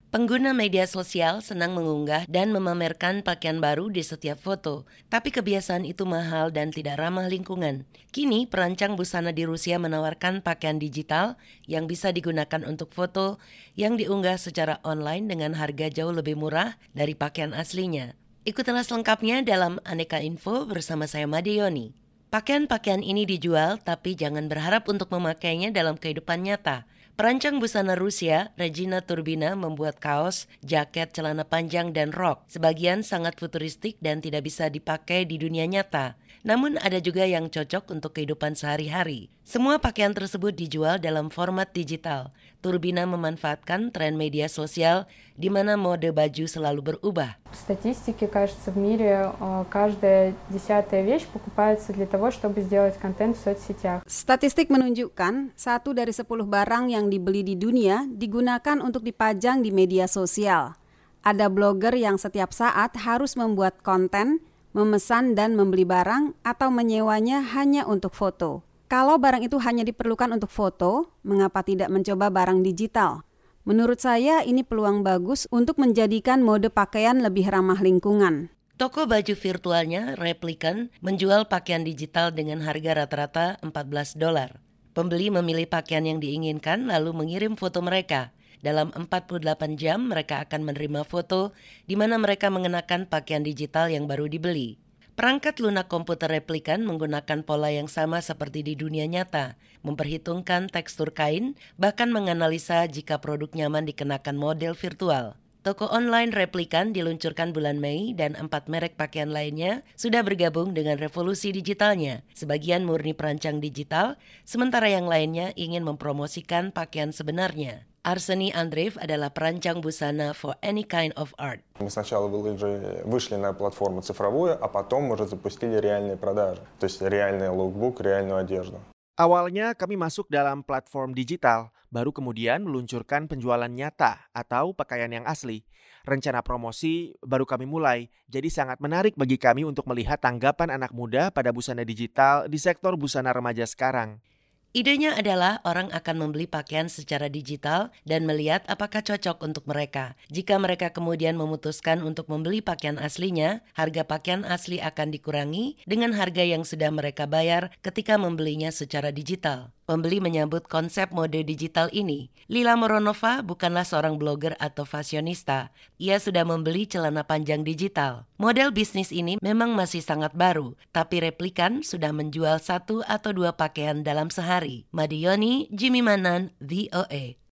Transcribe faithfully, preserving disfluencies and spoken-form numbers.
Pengguna media sosial senang mengunggah dan memamerkan pakaian baru di setiap foto, tapi kebiasaan itu mahal dan tidak ramah lingkungan. Kini, perancang busana di Rusia menawarkan pakaian digital yang bisa digunakan untuk foto yang diunggah secara online dengan harga jauh lebih murah dari pakaian aslinya. Ikutilah selengkapnya dalam Aneka Info bersama saya Madioni. Pakaian-pakaian ini dijual, tapi jangan berharap untuk memakainya dalam kehidupan nyata. Perancang busana Rusia, Regina Turbina, membuat kaos, jaket, celana panjang, dan rok. Sebagian sangat futuristik dan tidak bisa dipakai di dunia nyata. Namun ada juga yang cocok untuk kehidupan sehari-hari. Semua pakaian tersebut dijual dalam format digital. Turbina memanfaatkan tren media sosial di mana mode baju selalu berubah. В статистике, кажется, в мире э, каждая десятая вещь покупается для того, чтобы сделать контент в соцсетях. Statistik menunjukkan satu dari sepuluh barang yang dibeli di dunia digunakan untuk dipajang di media sosial. Ada blogger yang setiap saat harus membuat konten, memesan dan membeli barang atau menyewanya hanya untuk foto. Kalau barang itu hanya diperlukan untuk foto, mengapa tidak mencoba barang digital? Menurut saya ini peluang bagus untuk menjadikan mode pakaian lebih ramah lingkungan. Toko baju virtualnya, Replicant, menjual pakaian digital dengan harga rata-rata empat belas dolar. Pembeli memilih pakaian yang diinginkan lalu mengirim foto mereka. Dalam empat puluh delapan jam mereka akan menerima foto di mana mereka mengenakan pakaian digital yang baru dibeli. Perangkat lunak komputer Replicant menggunakan pola yang sama seperti di dunia nyata, memperhitungkan tekstur kain, bahkan menganalisa jika produk nyaman dikenakan model virtual. Toko online Replicant diluncurkan bulan Mei dan empat merek pakaian lainnya sudah bergabung dengan revolusi digitalnya. Sebagian murni perancang digital, sementara yang lainnya ingin mempromosikan pakaian sebenarnya. Arseny Andreev adalah perancang busana for any kind of art. Мы сначала вышли на платформу цифровую, а потом уже запустили реальные продажи. То есть реальный лукбук, реальную одежду. Awalnya kami masuk dalam platform digital, baru kemudian meluncurkan penjualan nyata atau pakaian yang asli. Rencana promosi baru kami mulai, jadi sangat menarik bagi kami untuk melihat tanggapan anak muda pada busana digital di sektor busana remaja sekarang. Idenya adalah orang akan membeli pakaian secara digital dan melihat apakah cocok untuk mereka. Jika mereka kemudian memutuskan untuk membeli pakaian aslinya, harga pakaian asli akan dikurangi dengan harga yang sudah mereka bayar ketika membelinya secara digital. Pembeli menyambut konsep mode digital ini. Lila Moronova bukanlah seorang blogger atau fashionista. Ia sudah membeli celana panjang digital. Model bisnis ini memang masih sangat baru, tapi Replicant sudah menjual satu atau dua pakaian dalam sehari. Madioni, Jimmy Manan, V O A.